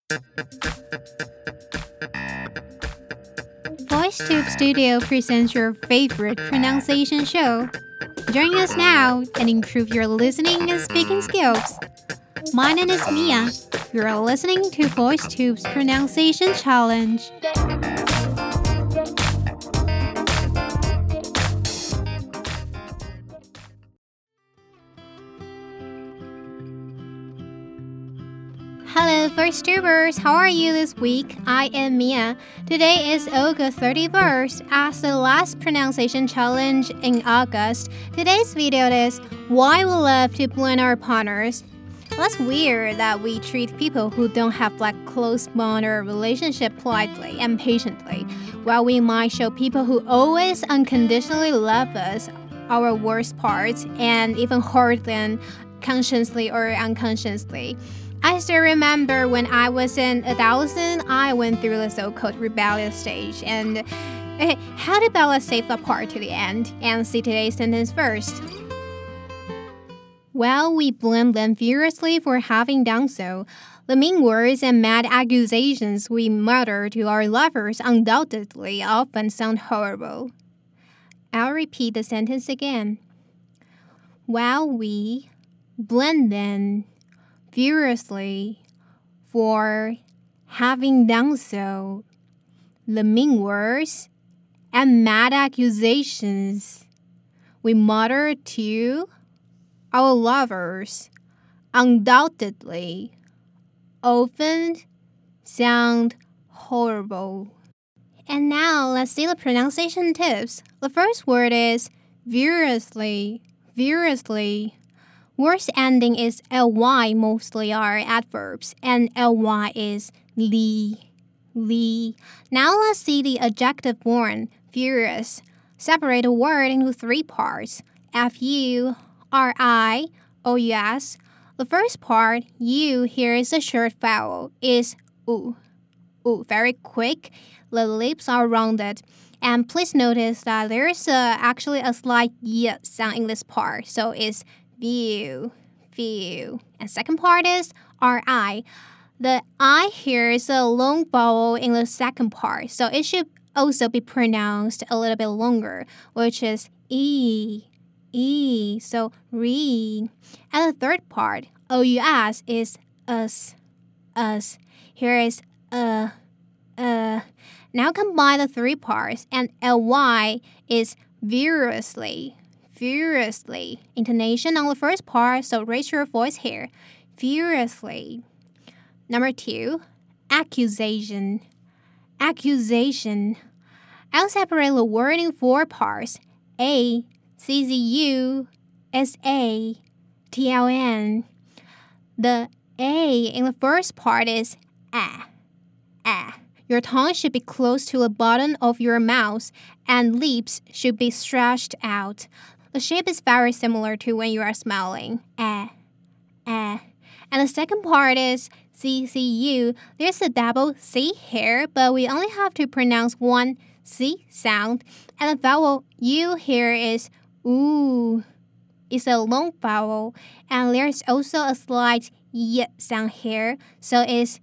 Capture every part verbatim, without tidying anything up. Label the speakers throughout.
Speaker 1: VoiceTube Studio presents your favorite pronunciation show. Join us now and improve your listening and speaking skills. My name is Mia. You're listening to VoiceTube's Pronunciation Challenge. Hello, VoiceTubers! How are you this week? I am Mia. Today is August thirty-first. As the last pronunciation challenge in August, today's video is why we love to blend our partners. That's weird that we treat people who don't have like close bond or relationship politely and patiently, while we might show people who always unconditionally love us our worst parts and even hurt them consciously or unconsciously. I still remember when I was in adolescent, I went through the so-called rebellious stage. And okay, how did Bella save the part to the end? And see today's sentence first. Well, we blame them furiously for having done so. The mean words and mad accusations we mutter to our lovers undoubtedly often sound horrible. I'll repeat the sentence again. While we blame them furiously for having done so, the mean words and mad accusations we mutter to our lovers undoubtedly often sound horrible. And now let's see the pronunciation tips. The first word is furiously, furiously. Words ending is ly mostly are adverbs, and ly is li, li. Now let's see the adjective form, furious. Separate the word into three parts, F U R I O U S. The first part, U, here is a short vowel, is U. U, very quick. The lips are rounded. And please notice that there is a, actually a slight y sound in this part, so it's view, view. And second part is R I. The I here is a long vowel in the second part, so it should also be pronounced a little bit longer, which is E, E, so re. And the third part, O U S, is us, us. Here is uh, uh. Now combine the three parts, and L Y is furiously. Furiously. Intonation on the first part, so raise your voice here. Furiously. Number two, accusation. Accusation. I'll separate the word in four parts. A, C Z U, S A, T L N. The A in the first part is ah, ah. Your tongue should be close to the bottom of your mouth, and lips should be stretched out. The shape is very similar to when you are smiling. Eh, eh. And the second part is C C U. There's a double C here, but we only have to pronounce one C sound. And the vowel U here is ooh. It's a long vowel. And there's also a slight Y sound here, so it's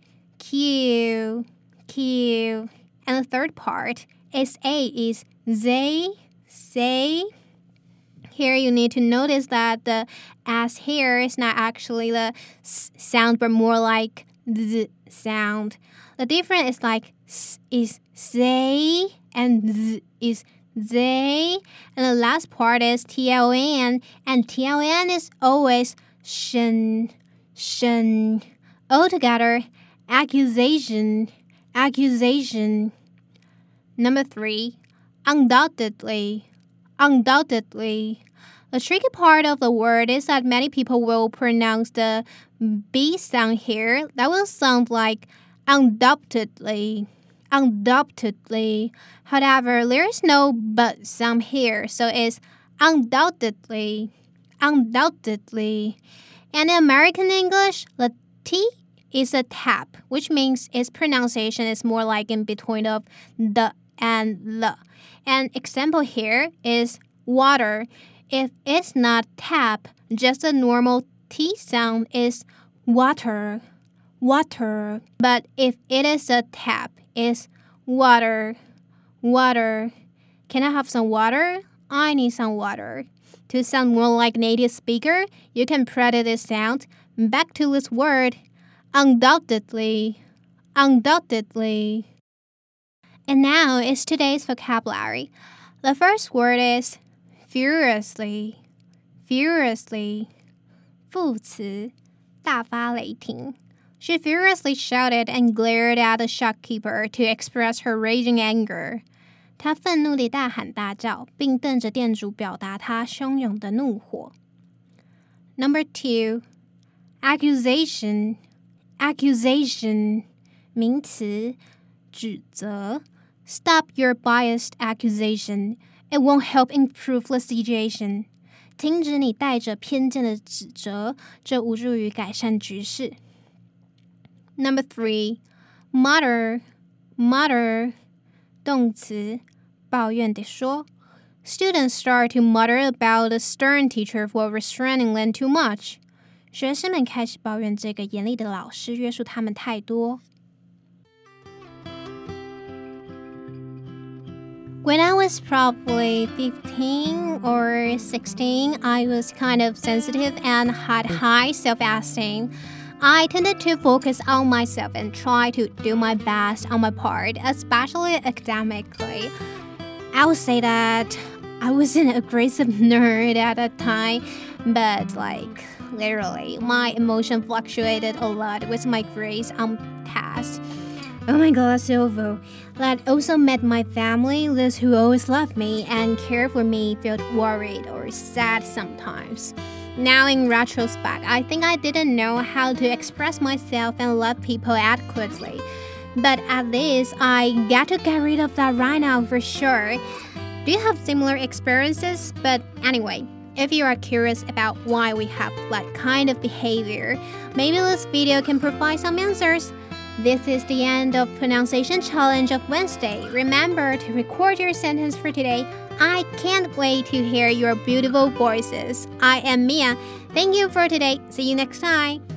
Speaker 1: Q, Q. And the third part, S A is Z, say. Here you need to notice that the S here is not actually the S sound, but more like Z sound. The difference is like S is say and Z is they. And the last part is T L N, and T L N is always shen, shen. Altogether, accusation, accusation. Number three, undoubtedly. Undoubtedly. The tricky part of the word is that many people will pronounce the B sound here. That will sound like undoubtedly. Undoubtedly. However, there is no but sound here, so it's undoubtedly. Undoubtedly. And in American English, the T is a tap, which means its pronunciation is more like in between of the and the. An example here is water. If it's not tap, just a normal T sound is water, water. But if it is a tap, it's water, water. Can I have some water? I need some water. To sound more like native speaker, you can practice this sound. Back to this word, undoubtedly, undoubtedly. And now is today's vocabulary. The first word is furiously, furiously. 副词，大发雷霆. She furiously shouted and glared at the shopkeeper to express her raging anger. 她愤怒地大喊大叫，并瞪着店主表达她汹涌的怒火。Number two, accusation, accusation, 名词，指责。Stop your biased accusation. It won't help improve the situation. 停止你带着偏见的指责，这无助于改善局势。Number three, mutter, mutter, 动词，抱怨地说。Students start to mutter about the stern teacher for restraining them too much. 学生们开始抱怨这个严厉的老师约束他们太多。When I was probably fifteen or sixteen, I was kind of sensitive and had high self-esteem. I tended to focus on myself and try to do my best on my part, especially academically. I would say that I was an aggressive nerd at that time, but like literally, my emotion fluctuated a lot with my grades on tests. Oh my god, Silvo. That also met my family, those who always loved me and cared for me felt worried or sad sometimes. Now in retrospect, I think I didn't know how to express myself and love people adequately. But at least I get to get rid of that right now for sure. Do you have similar experiences? But anyway, if you are curious about why we have that kind of behavior, maybe this video can provide some answers. This is the end of Pronunciation Challenge of Wednesday. Remember to record your sentence for today. I can't wait to hear your beautiful voices. I am Mia. Thank you for today. See you next time.